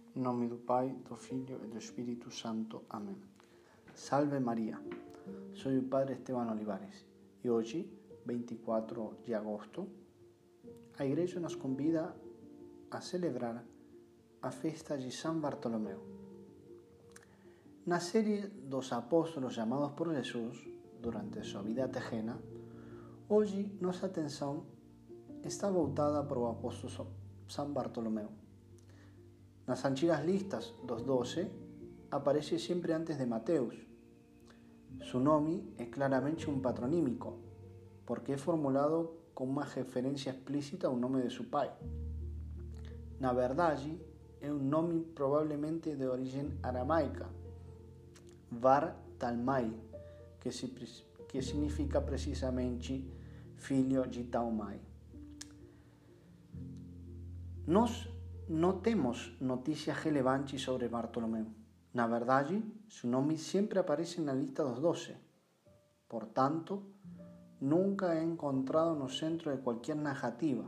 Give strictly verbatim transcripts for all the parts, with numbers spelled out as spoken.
Em nome do Pai, do Filho e do Espírito Santo. Amém. Salve Maria, sou o Padre Esteban Olivares e hoje, vinte e quatro de agosto, a Igreja nos convida a celebrar a festa de São Bartolomeu. Na série dos apóstolos chamados por Jesus durante sua vida terrena, hoje nossa atenção está voltada para o apóstolo São Bartolomeu. Nas antigas listas dos doce, aparece sempre antes de Mateus. Su nome é claramente um patronímico, porque é formulado com uma referência explícita ao nome de seu pai. Na verdade, é um nome provavelmente de origem aramaica, Bar Talmai, que, se, que significa precisamente filho de Taumai. Nós não temos notícias relevantes sobre Bartolomeu. Na verdade, seu nome sempre aparece na lista dos doce. Portanto, nunca é encontrado no centro de qualquer narrativa.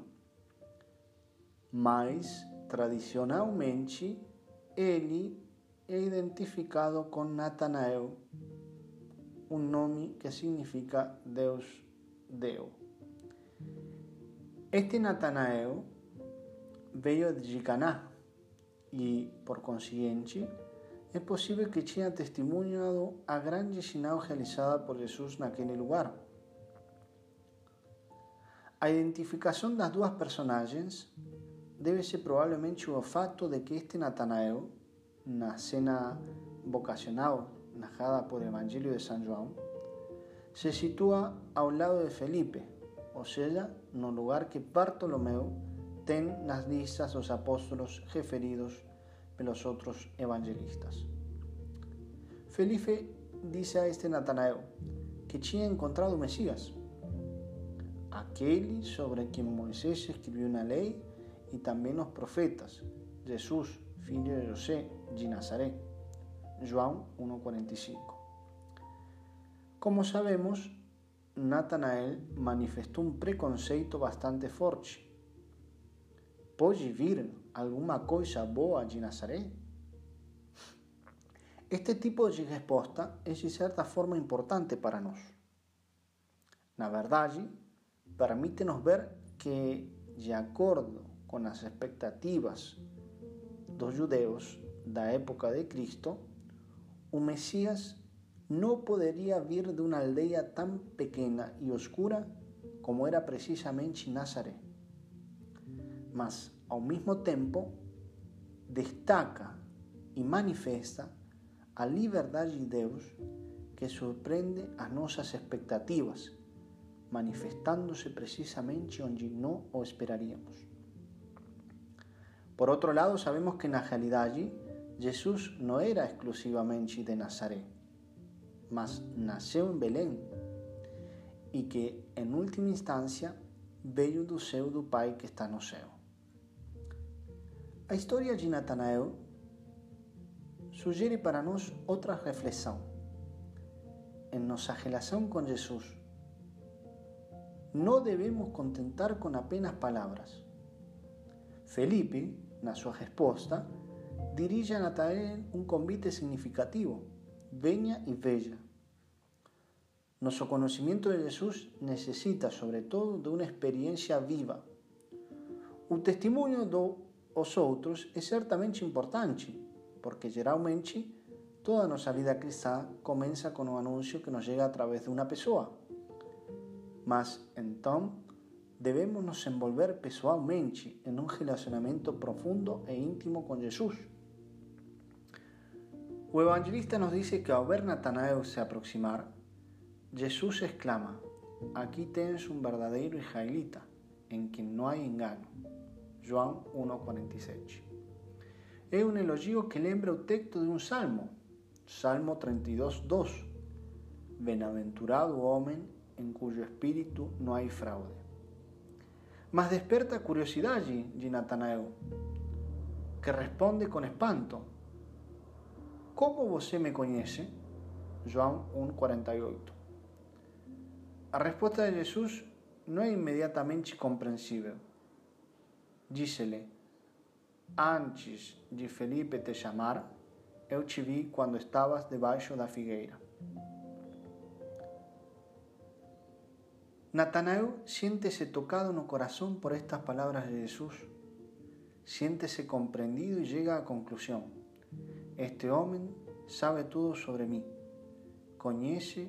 Mas, tradicionalmente, ele é identificado com Natanael, um nome que significa Deus deu. Este Natanael veio de Caná e, por consiguiente, é possível que tinha testemunhado a grande sinal realizada por Jesus naquele lugar. A identificação das duas personagens deve ser provavelmente o fato de que este Natanael, na cena vocacional narrada por o Evangelho de São João, se situa ao lado de Felipe, ou seja, no lugar que Bartolomeu tem nas listas dos apóstolos referidos pelos outros evangelistas. Felipe disse a este Natanael que tinha encontrado o Messias, aquele sobre quem Moisés escreveu na lei e também os profetas, Jesus, filho de José de Nazaré. João um, quarenta e cinco. Como sabemos, Natanael manifestou um preconceito bastante forte. Pode vir alguma coisa boa de Nazaré? Este tipo de resposta é de certa forma importante para nós. Na verdade, permite-nos ver que, de acordo com as expectativas dos judeus da época de Cristo, o Messias não poderia vir de uma aldeia tão pequena e oscura como era precisamente Nazaré. Mas, ao mesmo tempo, destaca e manifesta a liberdade de Deus que surpreende as nossas expectativas, manifestando-se precisamente onde não o esperaríamos. Por outro lado, sabemos que na realidade Jesus não era exclusivamente de Nazaré, mas nasceu em Belém e que, em última instância, veio do céu do Pai que está no céu. A história de Natanael sugere para nós outra reflexão. Em nossa relação com Jesus, não devemos contentar com apenas palavras. Felipe, na sua resposta, dirige a Natanael um convite significativo: venha e veja. Nosso conhecimento de Jesus necessita, sobretudo, de uma experiência viva. O testemunho dos outros é certamente importante, porque geralmente toda a nossa vida cristã começa com um anúncio que nos chega através de uma pessoa. Mas, então, devemos nos envolver pessoalmente em um relacionamento profundo e íntimo com Jesus. O evangelista nos diz que, ao ver Natanael se aproximar, Jesus exclama: aqui tens um verdadeiro israelita, em quem não há engano. João um, quarenta e sete. É um elogio que lembra o texto de um salmo, Salmo trinta e dois, dois. Bem-aventurado o homem em cujo espírito não há fraude. Mas desperta a curiosidade de Natanael, que responde com espanto: como você me conhece? João um, quarenta e oito. A resposta de Jesus não é imediatamente compreensível. Diz-lhe: antes de Felipe te chamar, eu te vi quando estavas debaixo da figueira. Natanael siéntese tocado no corazón por estas palabras de Jesús. Siéntese comprendido y llega a conclusión: este hombre sabe todo sobre mí, conhece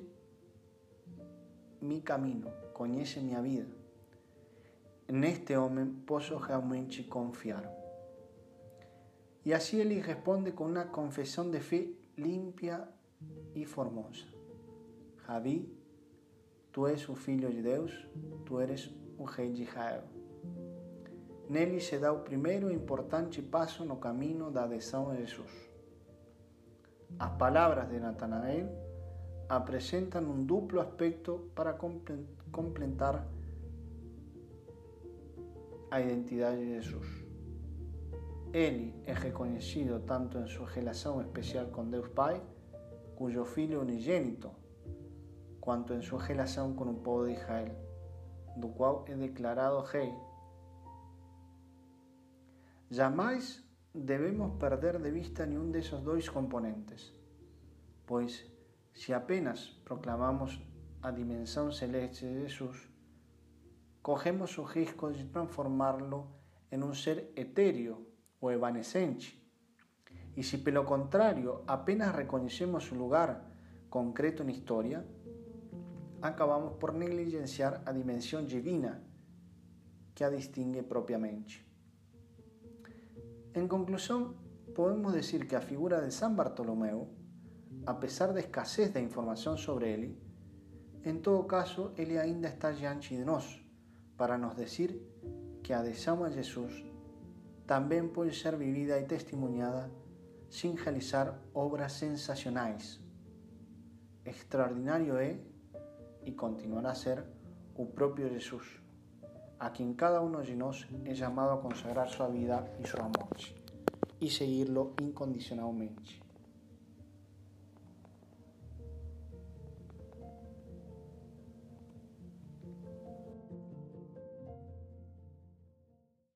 mi camino, conhece minha vida. Neste homem posso realmente confiar. Y así él responde con una confesión de fe limpia y formosa. Rabi, tu és o Filho de Deus, tu eres o Rei de Israel. Nele se dá o primeiro e importante passo no caminho da adesão a Jesus. As palavras de Natanael apresentam um duplo aspecto para completar a identidade de Jesus. Ele é reconhecido tanto em sua relação especial com Deus Pai, cujo Filho unigênito, quanto em sua relação com o povo de Israel, do qual é declarado rei. Jamais devemos perder de vista nenhum desses dois componentes, pois se apenas proclamamos a dimensão celeste de Jesus, corremos o risco de transformá-lo em um ser etéreo o evanescente. E se pelo contrário apenas reconhecemos o lugar concreto na história, acabamos por negligenciar a dimensão divina que a distingue propriamente. Em conclusão, podemos dizer que a figura de São Bartolomeu, a pesar da escassez da informação sobre ele, em todo caso, ele ainda está diante de nós, para nos dizer que a adesão a Jesus também pode ser vivida e testemunhada sem realizar obras sensacionais. Extraordinário é, e continuará a ser, o próprio Jesus, a quem cada um de nós é chamado a consagrar sua vida e sua morte, e seguir-lo incondicionalmente.